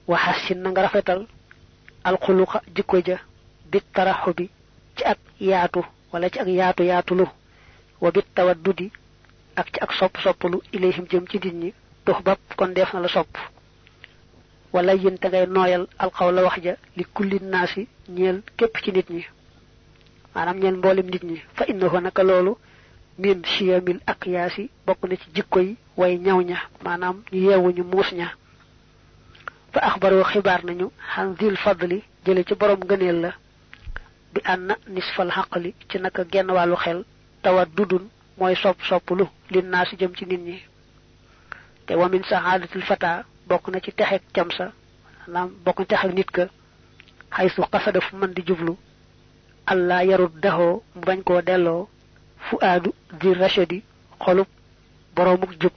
wa hasin nga rafetal al khuluqa jikko ja bit tarahubi ci ak yaatu wala ci ak yaatu yaatulu wa bit tawaddudi ak ci ak sopp ilayhim jëm ci nit ñi dox bab kon def na la sopp wala yeen ta ngay noyal al qawla wax ja li kulli nasi ñeel képp ci nit ñi manam ñeel mbolim nit ñi fa innahu naka lolu min shiyamil aqyasi bokku na ci jikko yi way ñaw ña manam ñu yewu ñu muus ña fa akhbaru khibar nañu hanzil fadli jële ci borom gëneel la bi anna nisfal haqli ci naka genn walu xel tawaddudun moy soppulu lin nas jëm ci nit ñi te wa min sa'adatil fata bokku na ci texek camsa nam bokku texek nit ka haythu qasada fu man di jublu alla yaruddahu mu bañ ko delo fuadu di rashidi xolub boromuk jup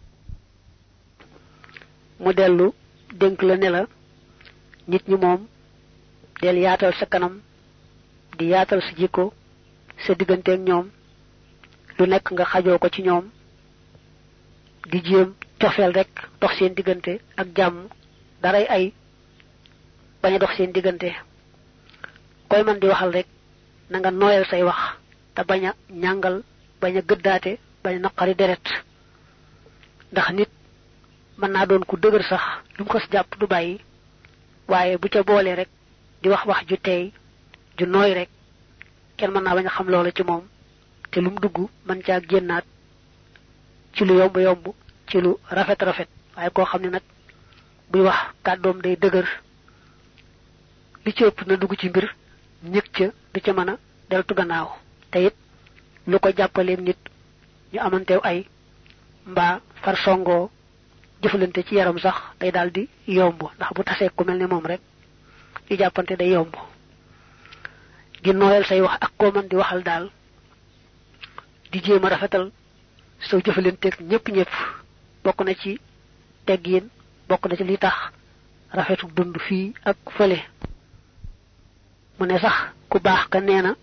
mu delu denk la ne la nit ñi mom del yaatal sa kanam di yaatal sa jikko sa digante ak ñoom lu nek nga xajoo ko ci ñoom di jëm tofel rek dox seen digante ak jàmm daray ay baña dox seen digante koy man di waxal rek na nga noyal say wax ta baña ñangal baña gëddaate baña naqari deret ndax nit man na doon ku dëgër sax lu ko japp du bayyi waye bu ca boole rek di wax wax ju tey ju noy rek kenn man na baña xam loolu ci mom te lum dugg man ca gennaat ci lu yomb ci lu rafet waye ko xamni nak buy wax kaddom day dëgër li ci ëpp na dugg ci mbir ñëk ca du ca mëna deltu gannaaw te it lu ko jappale nit ñu amantew ay mba far songo jëfalante ci yaram sax day daldi yomb ndax bu tassé ku melni mom rek ci jappante day yomb di noyal say wax ak ko man di waxal dal di jema rafetal so jëfalante ak ñepp bokku na ci teggine bokku na ci li tax rafetu dund fi ak fele mu ne sax ku baax ka neena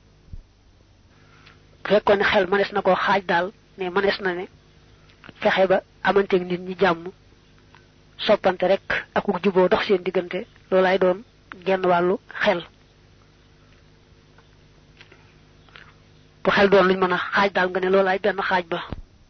fekkone xel manes nako xaj dal ne manes na ne fexé ba amante nit ñi jamm soppante rek ak ku jubo dox seen digënté lolay doon genn walu xel bu xel doon luñ mëna xaj dal nga ne lolay benn xaj ba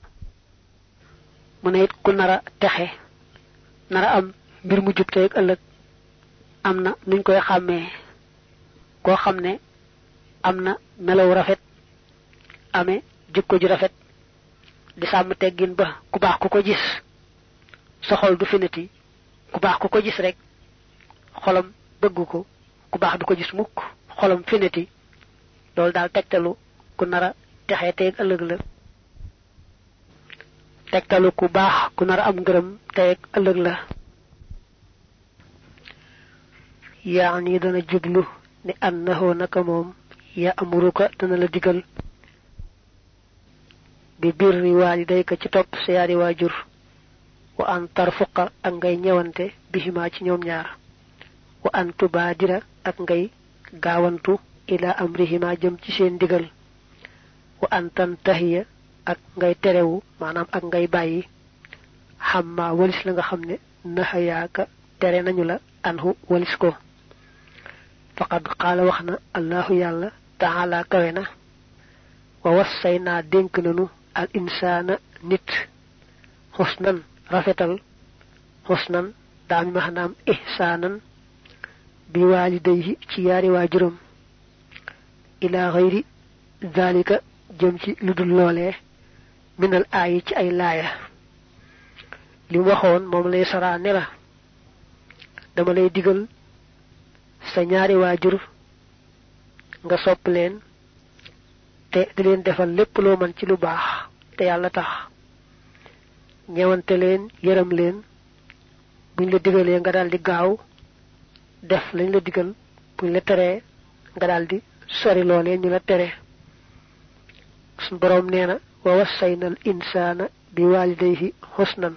mu ne it ku nara texé nara am mbir mu jup tay ak ëlëk amna nuñ koy xamé ko xamné amna melaw rafet amé jikko ju rafet di sam teggin ba ku baax ku ko gis sa xol du finati ku baax ku ko gis rek xolam bëgg ko ku baax du ko gis mukk xolam finati lol dal tektalu ku nara texé tay ak ëlëk la tektalu ku baax ku nara am ngërëm tay ak ëlëk la yaani dana jublu ni annahu naka mom ya amuruka dana la digal bi birri walidayka ci top sa yari wajur wa an tarfuqa ak ngay ñewante bihima ci ñoom ñaar wa an tubadira ak ngay gaawantu ila amrihima jëm ci seen digal wa an tantahiya ak ngay terewu manam ak ngay bayyi hamma walis la nga xamne nahayaka tere nañu la anhu walis ko faqad qala waxna Allahu yalla ta'ala kawena wa wassayna denk nanu al insana nit husnan rafetal husnan dami mahnam ihsanan bi walidayhi ci yari wajurum ila ghayri zalika jëm ci ludul lolé minal ayi ci ay laaya li waxoon mom lay sara ne la dama lay digal sa ñaari wajur nga sopp leen te di leen defal lépp loo man ci lu baax te yàlla tax ñewante leen yërëm leen buñ la digalee nga daldi gaaw def lañ la digal buñ la teree nga daldi sori loolee ñu la tere sun borom neena wa wasaynal insana bi walidayhi husnan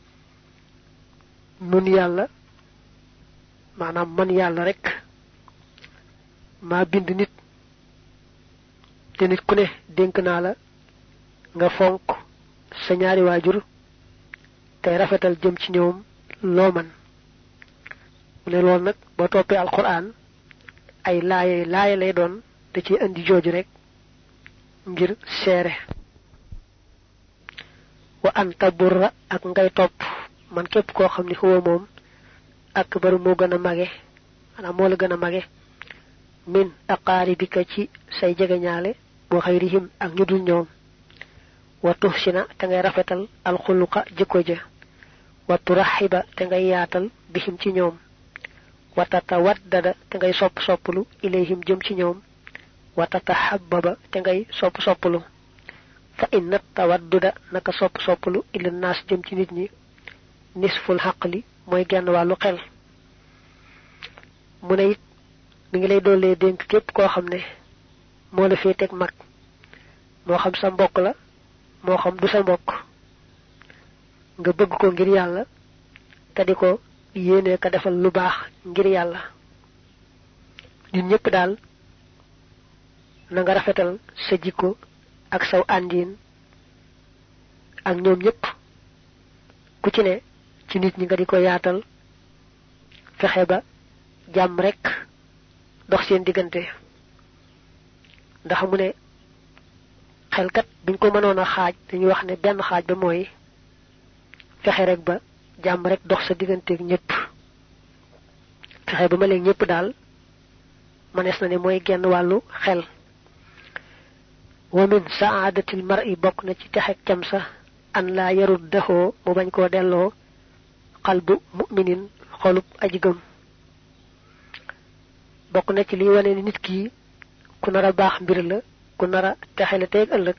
nun yàlla manam man yàlla rek ma bind nit te nit ku ne denk na la nga fonk sa ñaari wajur tay rafetal jëm ci ñoom lo man ne lool nak bo topé alquran ay laaye lay doon da ci andi joju rek ngir séré wa anta burra ak ngay top man képp ko xamni huwa mom akbar mo gëna magé ana mo la gëna magé min aqaribika ci say jegeñaale bo xayrihim ak ñu dul ñoom wa tuhsina ta ngay rafetal al khuluqa jikko ja wa turahiba ta ngay yaatal bihim ci ñoom wa tatawaddada ta ngay soppulu ilayhim jëm ci ñoom wa tatahabbaba ta ngay soppulu fa inna tawadduda naka soppulu ila nas jëm ci nit ñi nisful haqli moy genn walu xel mu ne it mi ngi lay dolé denk képp koo xam ne moo la féeteeg mag moo xam sa mbokk la moo xam du sa mbokk nga bëgg ko ngir yàlla te di ko yéene ka defal lu baax ngir yàlla ñun ñëpp daal na nga rafetal sa jikko ak saw àndiin ak ñoom ñëpp ku ci ne ci nit ñi nga di ko yaatal fexe ba jàmm rek dox seen diggante ndax mu ne xel kat buñ ko mënoon a xaaj dañuy wax ne benn xaaj ba mooy fexe rek ba jàmm rek dox sa digganteeg ñëpp fexe ba ma leen ñëpp daal manes na ne mooy genn wàllu xel wa min saadatil mar'i bokk na ci texek cam sa an laa yaruddahu mu bañ koo delloo qalbu mu'minin xolub aji gëm bokk na ci li wane ni nit ki ku nara baax mbir la ku nara texele teeg ëllëg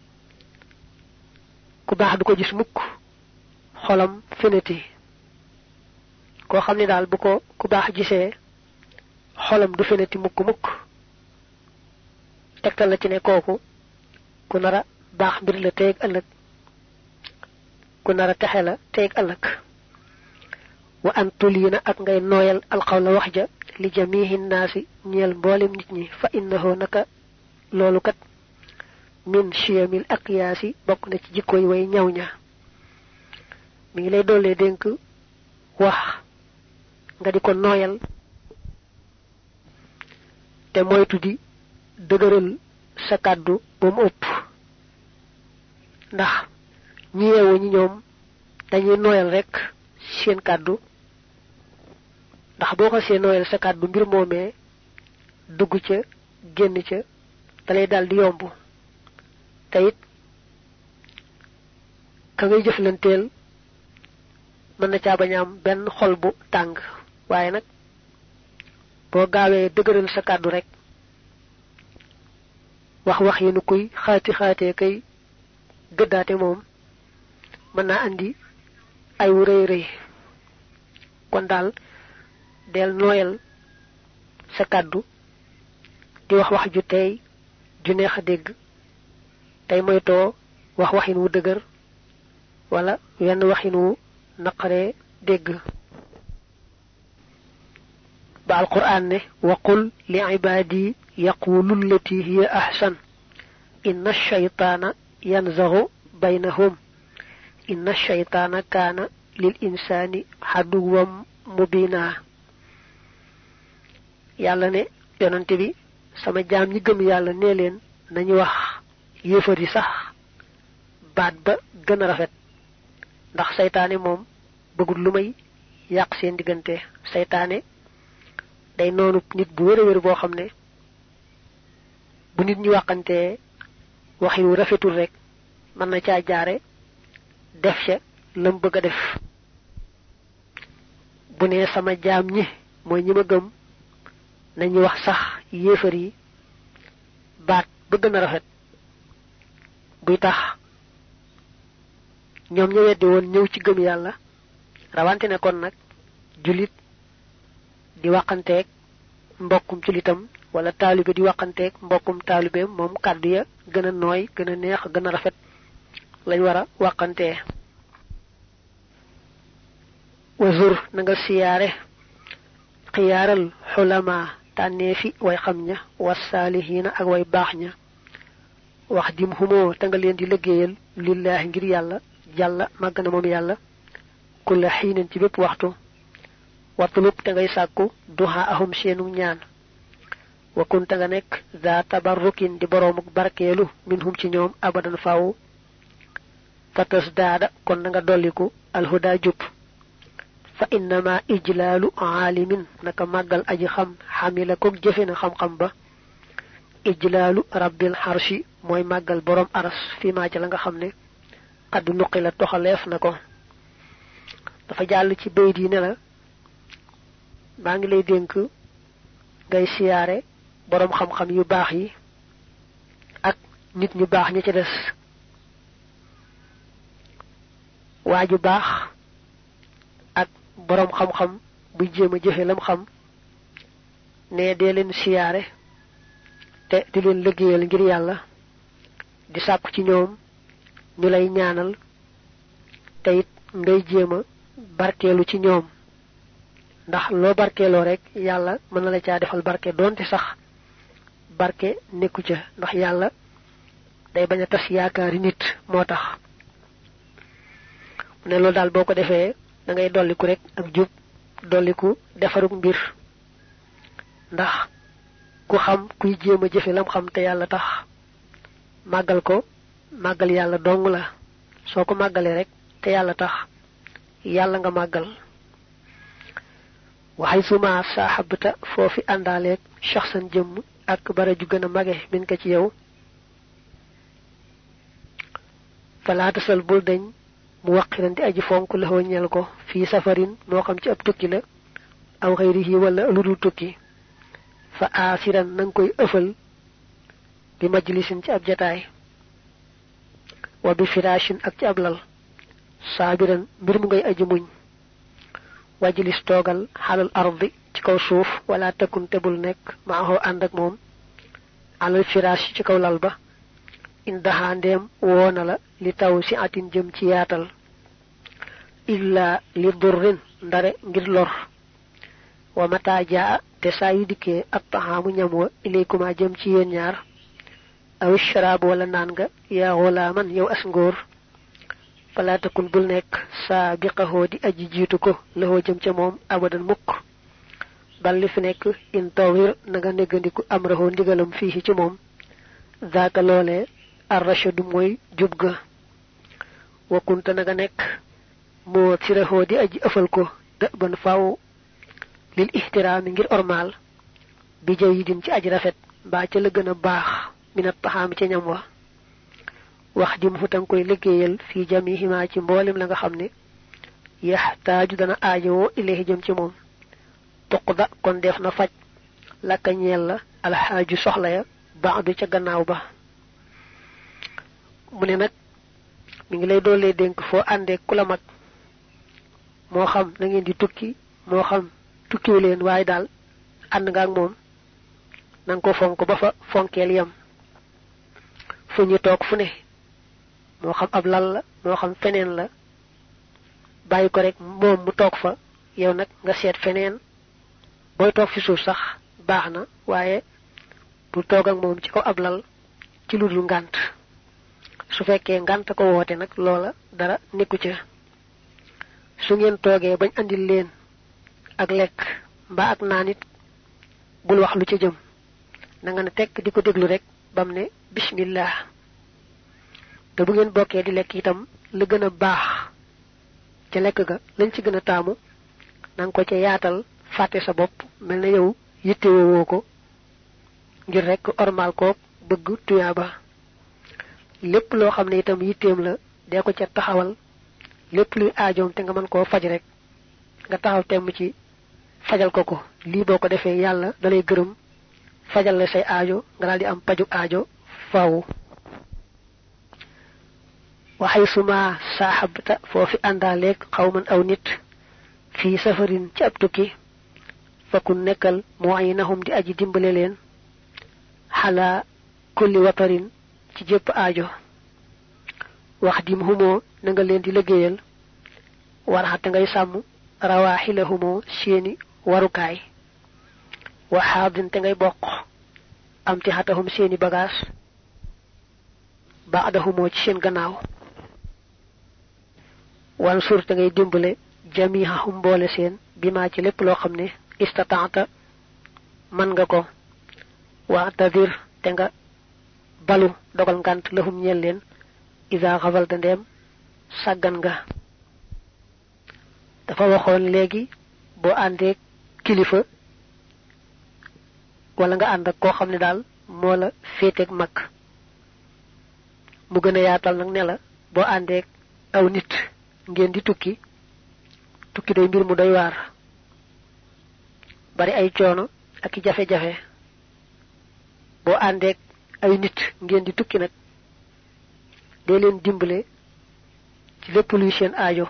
ku baax du ko gis mukk xolam feneti koo xam ne daal bu ko ku baax gisee xolam du feneti mukk tegtal la ci ne kooku ku nara baax mbir la teeg ëllëg ku nara texe la teeg ëllëg wa an tulina ak ngay nooyal alqawla wax ja li jamihi nnaasi ñeel mboolem nit ñi fa innahu naka loolu kat min shiyamil aqyaasi bokk na ci jikko yi way ñaw ña mi ngi lay dollee dénk wax nga di ko nooyal te moytu di dëgëral sa kàddu ba mu ëpp ndax ñi yeewu ñi ñoom dañuy nooyal rek seen kàddu ndax boo ko see nooyal sa kàddu mbir moomee dugg ca génn ca dalay dal di yomb te it ka ngay jëflanteel mën na caa bañ a am benn xol bu tàng waaye nag boo gaawee dëgëral sa kàddu rek wax yi nu kuy xaatee kay gëddaate moom mën naa andi ay wu rëy kon daal del nooyal sa kàddu di wax ju tey ju neex a dégg tey moytoo waxin wu dëgër wala wenn waxin wu naqaree dégg ba alquran ne waqul li ibadi yaqulu allati hiya ahsan inna ash-shaytana yanzaghu baynahum inna ash-shaytana kana lil insani haduwwan mubina yàlla ne yonante bi sama jaam ñi gëm yàlla nee leen nañu wax yéefar yi sax baat ba gën a rafet ndax saytaane moom bëggul lu may yàq seen diggante saytaane day noonu nit bu wér boo xam ne bu nit ñi waxantee waxin wu rafetul rek mën na caa jaare def ca lam bëgg a def bu ne sama jaam ñi mooy ñi ma gëm nañu wax sax yéefar yi baat ba gën a rafet buy tax ñoom ña weddi woon ñëw ci gëm yàlla rawante ne kon nag julit di waxanteeg mbokkum julitam wala taalibe di waxanteeg mbokkum taalibeem moom kàddu ya gën a nooy gën a neex gën a rafet lañ war a waxantee wazur na nga siyaare xiyaaral xulama tànneefi way xam ña wasaalihiina ak way baax ña wax dim humoo te nga leen di liggéeyal lillahi ngir yàlla jàlla màgg na moom yàlla kulla xiinin ci bépp waxtu watlub te ngay sàkku duha ahum seenu ñaan wa kunta nga nekk za tabarrukin di boroomuk barkeelu minhum ci ñoom abadan faaw fatas daada kon nga dolliku alhuda jub fa innama ijlaalu aalimin naka màggal aji xam xamila koog jëfe na xam-xam ba ijlaalu rabbil xarshi mooy màggal boroom aras fi maa ca la nga xam ne xadd nuqi la toxaleef na ko dafa jàll ci bayt yi ne la maa ngi lay dénk ngay siyaare boroom xam-xam yu baax yi ak nit ñu baax ña ca des waa ju baax ak boroom xam-xam buy jéem a jëfe lam xam ne dee leen siyaare te di leen liggéeyal ngir yàlla di sàkku ci ñoom ñu lay ñaanal te it ngay jéem a barkeelu ci ñoom ndax loo barkeeloo rek yàlla mën na la caa defal barke doonte sax barke nekku ca ndax yàlla day bañ a tas yaakaari nit moo tax mu ne loolu daal boo ko defee da ngay dolliku rek ak jub dolliku defaruk mbir ndax ku xam kuy jéem a jëfe lam xam te yàlla tax màggal ko màggal yàlla dong la soo ko màggalee rek te yàlla tax yàlla nga màggal waxay suma saaxabta foofi àndaaleeg shaxsan jëmm ak bara ju gën a mage min ko ci yow falaatasal bul dañ mu waqiran di aji fonk la ñel ko fii safarin moo xam ci ab tukki la aw xayrihi wala lu dul tukki fa aasiran nanga koy ëfal bi majlisin ci ab jataay wa bi firashin ak ci ab lal saabiran mbir mu ngay aji muñ wajlis toogal xalal ardi ci kaw suuf wala takun tebul nekk maaxoo ànd ak moom alal firash ci kaw lal ba indaha ndeem woona la li taw si atin jëm ci yaatal illa li durrin ndare ngir lor wa mata jaa te saa yu dikkee ab taxaamu ñam wa ilaykuma jëm ci yéen ñaar aw sharaab wala naan nga yaa xulaaman yow as ngóor fala takun bul nekk saabiqahoo di aji jiitu ko laxoo jëm ca moom abadan mukk bal li fi nekk in tawir na nga neggandiku am raxoo ndigalam fii ci moom zaaka loolee arrachadu mooy jub ga wakkunta na nga nekk moo si raxoo di aji ëfal ko dë ban faaw lil ixtiraami ngir ormaal bi jay yi din ci aji rafet mbaa ca la gën a baax minat taxaami ca ñam wa wax di mu futang koy liggéeyal fii jamihima ci mboolem la nga xam ne yaxtaaju dana aajowoo ilayhi jëm ci moom tuqda kon def na faj lakka ñeel la alxaaju soxla ya baadu ca gannaaw ba mu ne nag mi ngi lay doolee dénk foo àndee ku la mag moo xam na ngeen di tukki moo xam tukkiwu leen waaye daal ànd nga ak moom nanga ko fonk ba fa fonkeel yam fu ñu toog fu ne moo xam ab lal la moo xam feneen la bàyyi ko rek moom mu toog fa yow nag nga seet feneen booy toog fi suuf sax baax na waaye bu toog ak moom ci kaw ab lal ci lu dul ngànt su fekkee ngànt ko woote nag loola dara nekku ca su ngeen toogee bañ andil leen ak lekk mbaa ak naan it bul wax lu ca jëm na nga ne tekk di ko déglu rek bam ne bismillah te bu ngeen bokkee di lekk itam la gën a baax ca lekk ga lañ ci gën a taamu nanga ko ca yaatal fàtte sa bopp mel na yow yittewoo ko ngir rek ormal ko bëgg tuyaaba lépp loo xam ne itam yitteem la dee ko ca taxawal lépp luy aajoom te nga mën koo faj rek nga taxaw temm ci fajal ko ko lii boo ko defee yàlla dalay gërëm fajal la say aajo nga daal di am paju aajo faaw waxay suma saaxabta foofi àndaaleeg xawman aw nit fii safarin ci ab tukki fakun nekkal mu'inahum di aji dimbale leen xalaa kulli watarin ci jépp aajo wax dim humoo na nga leen di liggéeyal waraxate ngay sàmm rawaaxila humoo seeni warukaay waxaadin te ngay bokk am ti xatahum seeni bagaas baada humoo ci seen gannaaw wan sur te ngay dimbale jamihahum boole seen bima ci lépp loo xam ne istata'ta man nga ko wa tadir te nga balu dogal ngant lahum ñeel leen isa xafal da ndeem sàggan nga dafa waxoon léegi boo àndee kilifa wala nga ànd ak koo xam ne daal moo la féeteeg mag mu gën a yaatal nag ne la boo àndee aw nit ngeen di tukki day mbir mu doy waar bari ay coono ak jafe-jafe boo àndee ay nit ngeen di tukki nag dee leen dimbale ci lépp luy seen aajo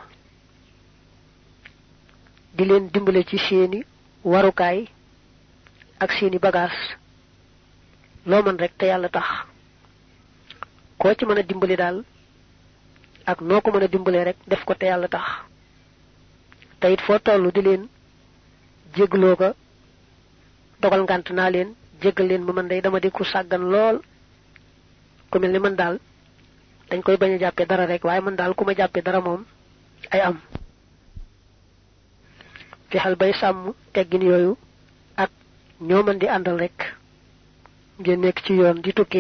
di leen dimbale ci seeni warukaay ak seeni bagage loo mën rek te yàlla tax koo ci mën a dimbali daal ak noo ko mën a dimbalee rek def ko te yàlla tax te it foo tollu di leen jégloo ko dogal ngant naa leen jéggal leen ma man day dama di ku sàggan lool ku mel ni man daal dañ koy bañ a jàppee dara rek waaye man daal ku ma jàppee dara moom ay am fexal bay sàmm teggin yooyu ak ñoo mën di àndal rek ngeen nekk ci yoon di tukki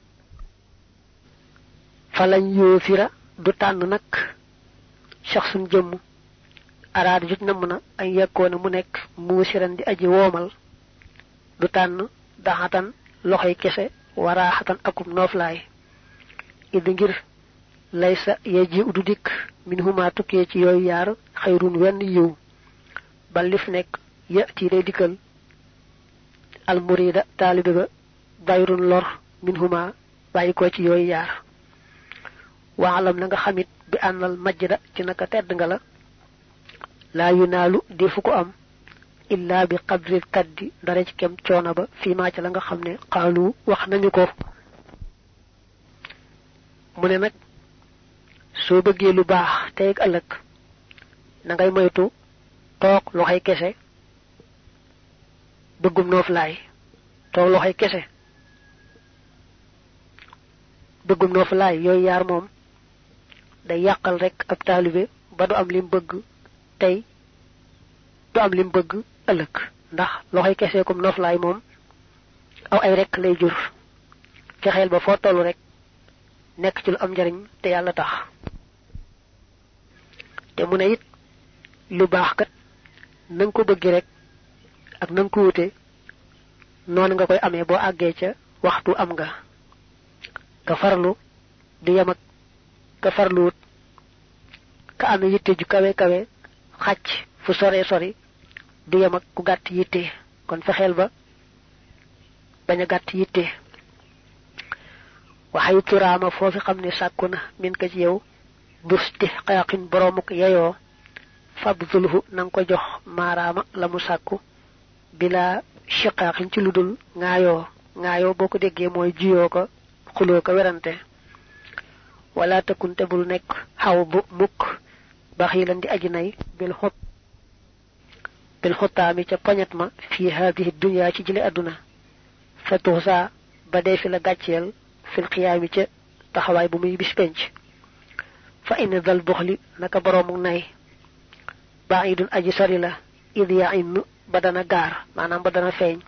fa lañ yoo fira du tànn nag shaxsun jëmm araada jut namm na ay yekkoona mu nekk muusiran di aji woomal du tànn daxatan loxoy kese waraaxatan akum nooflaay idi ngir laysa yeji udu dikk min huma tukkee ci yooyu yaar xayrun wenn yiw ba lif nekk yati day dikkal al murida taalibe ba bayrun lor min huma bàyyi ko ci yooyu yaar waalam na nga xamit bi ànnal majda ci naka tedd nga la laa yunaalu defu ko am illa bi qadril kaddi dara ci kem coono ba fii maa ci la nga xam ne xaalu wax nañu ko mu ne nag soo bëggee lu baax tey ak ëllëg na ngay moytu toog loxoy kese bëggum nooflaay toog loxoy kese bëggum nooflaay yooyu yaar moom day yàqal rek ab taalibe ba du am lim bëgg tey du am lim bëgg ëllëg ndax loxoy kese comme nooflaay moom aw ay rek lay jur fexeel ba foo tollu rek nekk ci lu am njariñ te yàlla tax te mu ne it lu baax kat na nga ko bëgg rek ak na nga ko wute noonu nga koy amee boo àggee ca waxtu am nga farlu di yem ak ka farluwut ka am yitte ju kawe kawe xàcc fu sore sori di yem ak ku gàtt yitte kon fexeel ba bañ a gàtt yitte waxay turaama foofi xam ne sàkku na min ka ci yow bustihqaqin boromuk yeyoo fabdulhu nang ko jox maaraama la mu sàkku bila shiqaqin ci ludul ngaayoo boo ko déggee mooy jiyoo ko xuloo ko werante wala takunte bul nekk xaw bu mukk baxilan di aji nay bil xottaami ca poñet ma fii haadihi dunya ci jële àdduna fa tuxsa ba dee fi la gàcceel fil xiyaami ca taxawaay bu muy bis penc fa inna dal buxli naka boroomu nay baidun aji sori la id ya inn ba dana gaar maanaam ba dana feeñ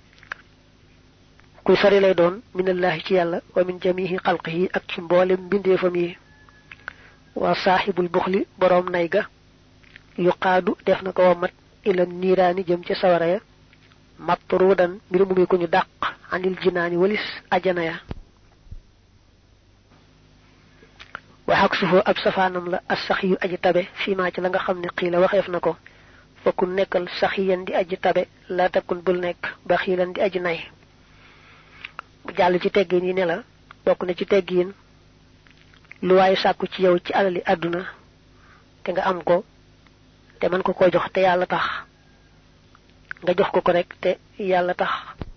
kuy sori lay doon minallahi ci yàlla wa min jamihi xalqihi ak ci mboolem mbindeefam yi wa saaxibul buxli boroom nay ga yuqaadu def na ko wamat ila niiraani jëm ca sawara ya matruudan mbir mu muy ko ñu dàq anil jinaani walis ajana ya waxak sufoo ab safaanam la as saxiyu aji tabe fii maa ci la nga xam ne xiila waxeef na ko fa ku nekkal saxiyan di aji tabe la takun bul nekk ba xiilan di aji nay mu jàll ci teggin yi ne la bokk na ci teggin lu waaye sàkku ci yow ci alali àdduna te nga am ko te man ko jox te yàlla tax nga jox ko rek te yàlla tax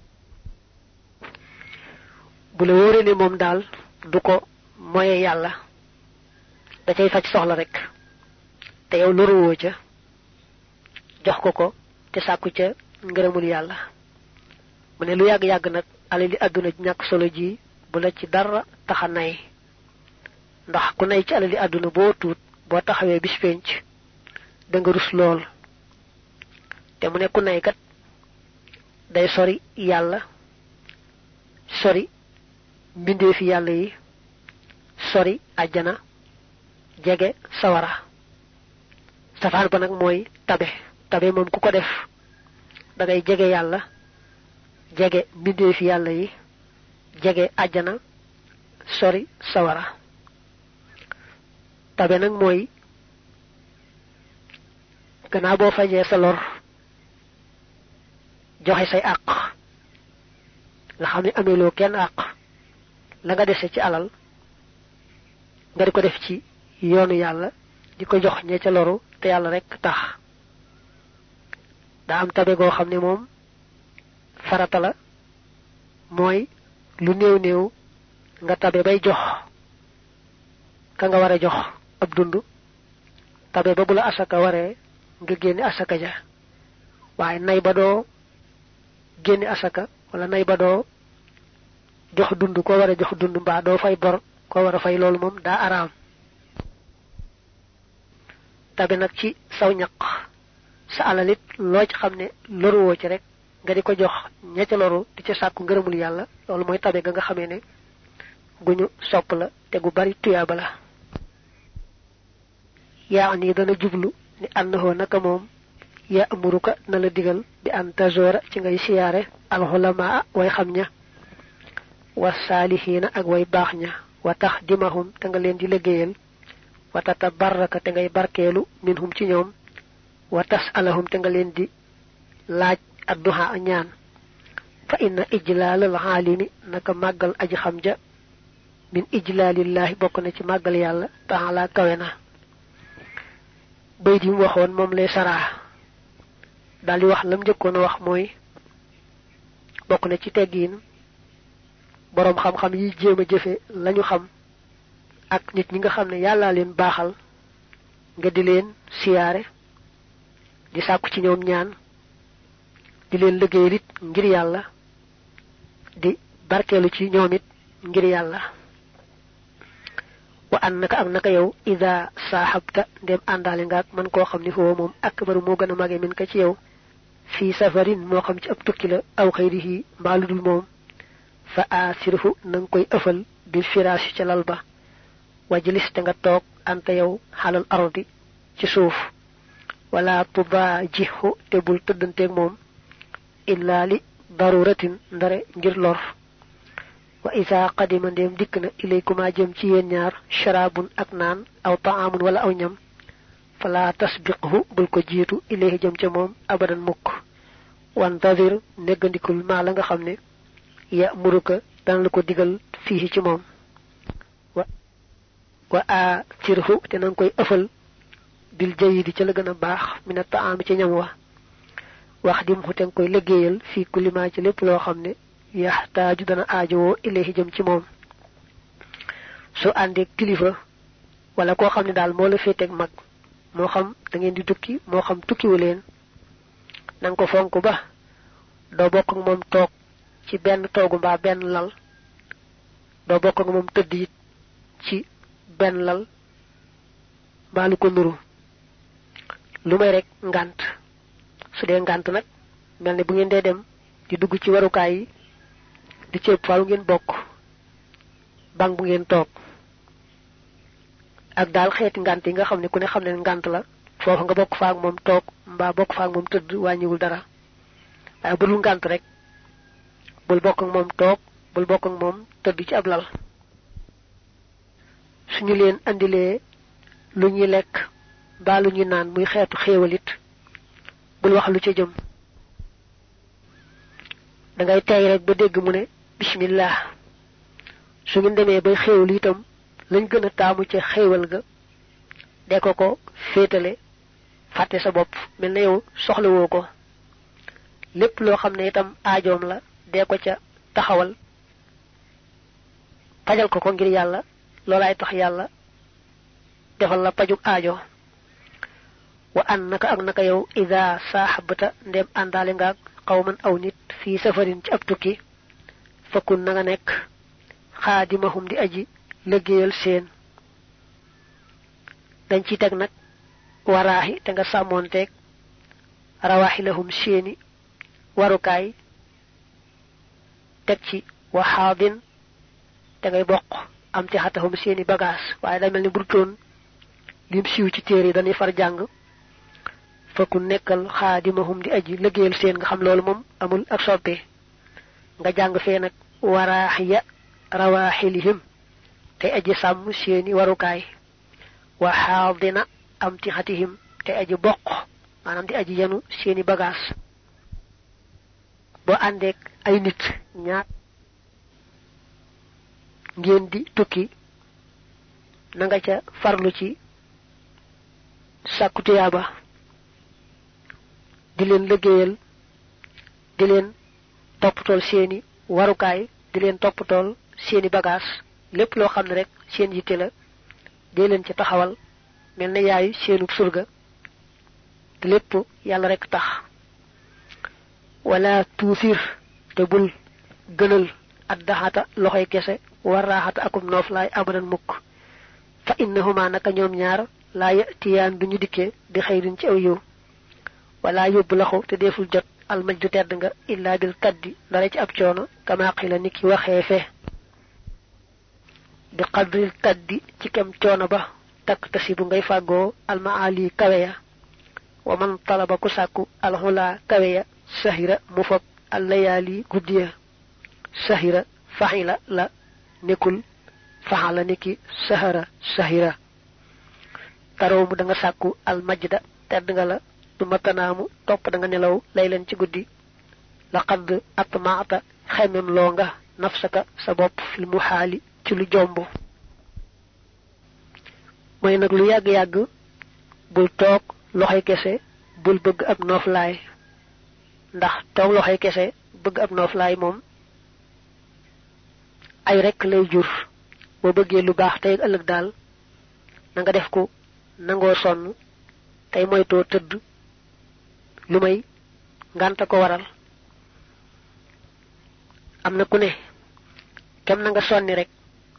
bu la wóoree ne moom daal du ko moye yàlla da cay faj soxla rek te yow loruwoo ca jox ko te sàkku ca ngërëmul yàlla mu ne lu yàgg-yàgg nag alali àdduna ñàkk solo ji bu la ci dara taxa nay ndax ku nay ci alali àdduna boo tuut boo taxawee bis penc da nga rus lool te mu ne ku nay kat day sori yàlla sori mbindeefi yàlla yi sori àjjana jege sawara safaan ba nag mooy tabe moom ku ko def da ngay jege yàlla jege mbindeefi yàlla yi jege àjjana sori sawara tabe nag mooy gannaaw boo fajee sa lor joxe say àq nga xam ne ameeloo kenn àq la nga dese ci alal nga di ko def ci yoonu yàlla di ko jox ñe ca loru te yàlla rek tax daa am tabe goo xam ne moom farata la mooy lu néew néew nga tabe bay jox ka nga war a jox ab dund tabe ba bu la asaka waree nga génne asaka ja waaye nay ba doo génne asaka wala nay ba doo jox dund ko war a jox dund mbaa doo fay bor ko war a fay loolu moom daa araam tabe nag ci saw ñaq sa alalit loo ci xam ne loruwoo ci rek nga di ko jox ña ca loru di ca sàkku ngërëmul yàlla loolu mooy tabe ga nga xamee ne guñu sopp la te gu bari tuyaaba la yaa ni dana jublu ni annahu naka moom ya amuruka na la digal bi an tazora ci ngay siyaare alxulamaa way xam ña wa saalihiina ak way baax ña wa tax dimahum te nga leen di liggéeyal wa tatabarraka te ngay barkeelu minhum ci ñoom wa tasalahum te nga leen di laaj adduha ñaan fa inna ijlaalal xaalimi naka màggal aji xam ja min ijlaalillahi bokk na ci màggal yàlla taala kawe na bayt yi mu waxoon moom lay saraa daldi wax lam njëkkoon a wax mooy bokk na ci teggiin boroom xam-xam yi jéem a jëfe lañu xam ak nit ñi nga xam ne yàllaa leen baaxal nga di leen siyaare di sàkku ci ñoom ñaan di leen liggéeyal it ngir yàlla di barkeelu ci ñoom it ngir yàlla wa annaka ak naka yow ida saaxabta ndem àndaale nga ak man koo xam ne foofu moom akbaru moo gën a mage min ka ci yow fii safarin moo xam ci ab tukki la aw xayrihi mbaa lu dul moom fa asirhu na nga koy ëfal bil firaasi ca lal ba wajlis te nga toog anta yow xalal ardi ci suuf wala tubaajihu te bul tëddanteeg moom illaa li daruratin ndare ngir lor wa isa qadima ndéem dikk na ilaykuma jëm ci yéen ñaar sharabun ak naan aw taamun wala aw ñam fala tasbiqhu bul ko jiitu ilayhi jëm ca moom abadan mukk wantadir neggandikul maa la nga xam ne ya muruka dana la ko digal fii ci moom wa atirhu te nanga koy ëfal bil jayidi ca la gën a baax mina taami ci ñam wa wax dimhu te nga koy liggéeyal fii kulima ci lépp loo xam ne yaxtaaju dana aajowoo ilayhi jëm ci moom soo àndee kilifa wala koo xam ne daal moo la féeteeg mag moo xam da ngeen di tukki moo xam tukkiwu leen nanga ko fonk ba doo bokk ak moom toog ci benn toogu mbaa benn lal doo bokk ak moom tëdd it ci benn lal mbaa lu ko nuru lu may rek ngànt su dee ngànt nag mel ne bu ngeen dee dem di dugg ci warukaay yi di ceeb faaw ngeen bokk bang bu ngeen toog ak daal xeeti ngànt yi nga xam ne ku ne xam ne ngànt la foofu nga bokk faak moom toog mbaa bokk faak moom tëdd wàññiwul dara waaye bu dul ngànt rek bul bokk ak moom toog bul bokk ak moom tëdd ci ab lal suñu leen andilee lu ñuy lekk mbaa lu ñuy naan muy xeetu xéewalit bul wax lu ca jëm dangay tey rek ba dégg mu ne bismillah su ngeen demee bay xéewal itam lañ gën a taamu ca xéewal ga de ko féetale fàtte sa bopp mel na yow soxlawoo ko lépp loo xam ne itam aajoom la dee ko ca taxawal pajal ko ngir yàlla loolaay tax yàlla defal la pajug aajo wa an naka ak naka yow ida saaxabata ndem àndaale ngaag xawman aw nit fii safarin ci ab tukki fakkun na nga nekk xaadimahum di aji liggéeyal seen dañ ci teg nag waraahi te nga sàmmoonteeg rawaaxilahum seeni warukaay teg ci waxaadin te ngay bokk am ci xatahum seeni bagage waaye day mel ni burtoon lim siiw ci téere yi dañuy far jàng fakku nekkal xaadimahum di aji liggéeyal seen nga xam loolu moom amul ak soppe nga jàng fee nag waraaxiya rawaaxilihim te aji sàmm seeni warukaay waxaadina am ci xatihim te aji bokk maanaam di aji yenu seeni bagage boo àndeek ay nit ñaar ngeen di tukki na nga ca farlu ci sàkku tuyaaba di leen liggéeyal di leen toppatool seeni warukaay di leen toppatool seeni bagage lépp loo xam ne rek seen yitte la dee leen ci taxawal mel na yaayu seenu surga te lépp yàlla rek tax wala tuusir te bul gënal addaxata loxoy kese waraaxata akum nooflaay abadan mukk fa innahuma naka ñoom ñaar laa yatiyaan duñu dikkee bi xayrin ci aw yiw wala yóbbu laxu te deful jot almajdu tedd nga illa bil kaddi dara ci ab coono kama qila ni ki waxee fe bi qadril kaddi ci kem coono ba takk tasibu ngay fàggoo almaali kaweya wa man talaba ku sàkku alxula kaweya sahira mu fob allayaali guddiya sahira faxila la nekkul faxala niki sahara sahira taraw mu da nga sàkku almajda tedd nga la du matanaamu topp da nga nelaw lay leen ci guddi laqad atmaata xemem loo nga nafsaka sa bopp fil muhaali ci lu jomb mooy nag lu yàgg-yàgg bul toog loxoy kese bul bëgg ab nooflaay ndax toog loxoy kese bëgg ab nooflaay moom ay rekk lay jur boo bëggee lu baax tey ëllëg daal na nga def ko nangoo sonn tey moytoo tëdd lu may ngànta ko waral am na ku ne kem na nga sonni rek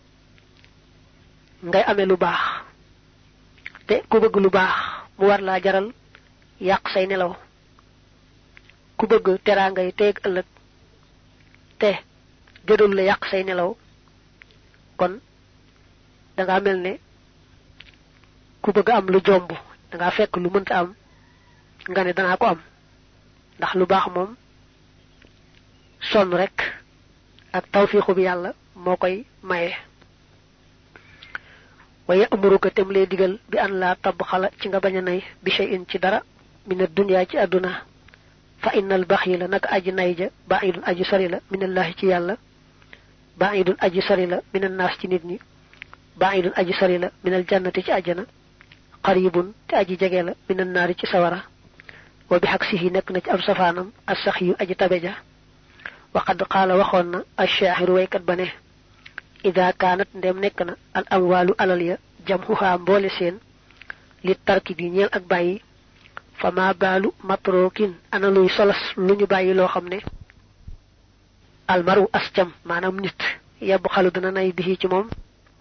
ngay amee lu baax te ku bëgg lu baax mu war laa jaral yàq say nelaw ku bëgg teraangay tey ëllëg te jëdul la yàq say nelaw kon danga mel ne ku bëgg am lu jomb danga fekk lu mënta am nga ne danaa ko am ndax lu baax moom sonn rek ak tawfiixu bi yàlla moo koy maye waye amuruka tem lay digal bi an laa tabb xala ci nga bañ a nay bi shay'in ci dara mina dunya ci àdduna fa innal baxila naka aji nay ja ba'idun aji sori la minallahi ci yàlla ba'idun aji sori la minan naas ci nit ñi ba'idun aji sori la minal jannati ci àjjana qaribun te aji jege la minan naari ci sawara wa bi xaksihi nekk na ci am safaanam as-sax yu aji tabeja wa qad qaala waxoon na ash-shaahiru waykat ba ne ida kaanat ndem nekk na al amwaalu alal ya jamhuha mboole seen li tarki bi ñeel ak bàyyi fa ma baalu matrokin ana luy solas lu ñu bàyyi loo xam ne almaru ascam maanaam nit yebb xalu dana nay bi ci moom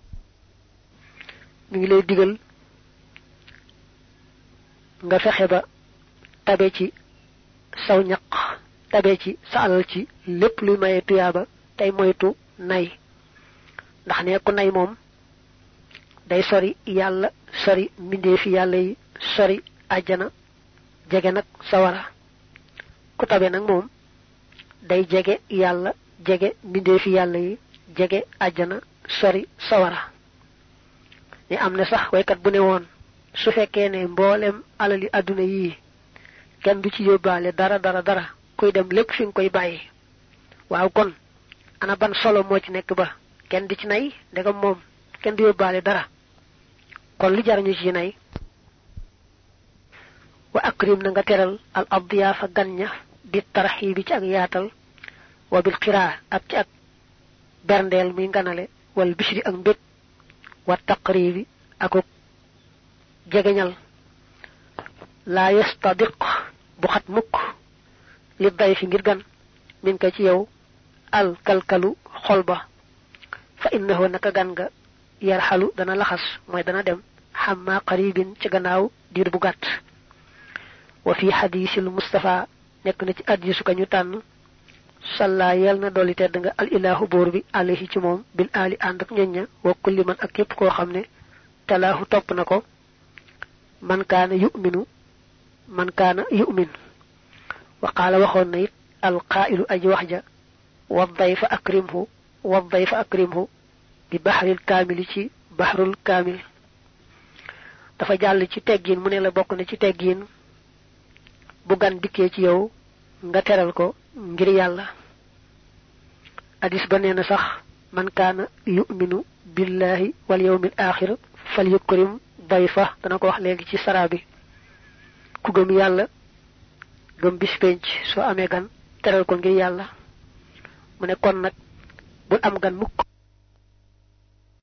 mi ngi lay digal nga fexe ba tabe ci saw ñaq tabe ci sa alal ci lépp luy maye tuyaaba tey moytu nay ndax ne ku nay moom day sori yàlla sori mbindeefi yàlla yi sori àjjana jege nag sawara ku tabe nag moom day jege yàlla jege mbindeefi yàlla yi jege àjjana sori sawara ni am na sax waykat bu ne woon su fekkee ne mboolem alali àdduna yii kenn du ci yóbbaale dara kuy dem lépp fi nga koy bàyyi waaw kon ana ban solo moo ci nekk ba kenn di ci nay ndegam moom kenn du yóbbaale dara kon lu jar ñu ci nay wa akrim na nga teral al adiyaafa gan ña bi tarxiibi ci ak yaatal wa bil xiraa ak ci ak berndeel muy nganale wal bishri ak mbég wa taqribi akuk jegeñal laa yastadiq bu xat mukk li day fi ngir gan min ko ci yow al kalkalu xol ba fa innahu naka gan nga yarxalu dana laxas mooy dana dem xamma qaribin ci gannaaw diir bu gàtt wa fi hadisil mustafa nekk na ci hadisu ka ñu tànn salla yal na dolli tedd nga al ilahu buur bi alayhi ci moom bil ali ànd ak ñoñña wa kulli man ak képp koo xam ne talaahu topp na ko man kaana yu'min wa qaala waxoon na it al qaa'ilu aji wax ja wa dayfa akrimhu bi bahril kaamili ci bahrul kaamil dafa jàll ci teggiin mu ne la bokk na ci teggiin bu gan dikkee ci yow nga teral ko ngir yàlla hadis ba nee na sax man kaana yu'minu billahi wal yawmil aaxir fal yukrim dayfa dana ko wax léegi ci sarabi ku gëm yàlla gëm bis penc soo amee gan teral ko ngir yàlla mu ne kon nag bul am gan mukk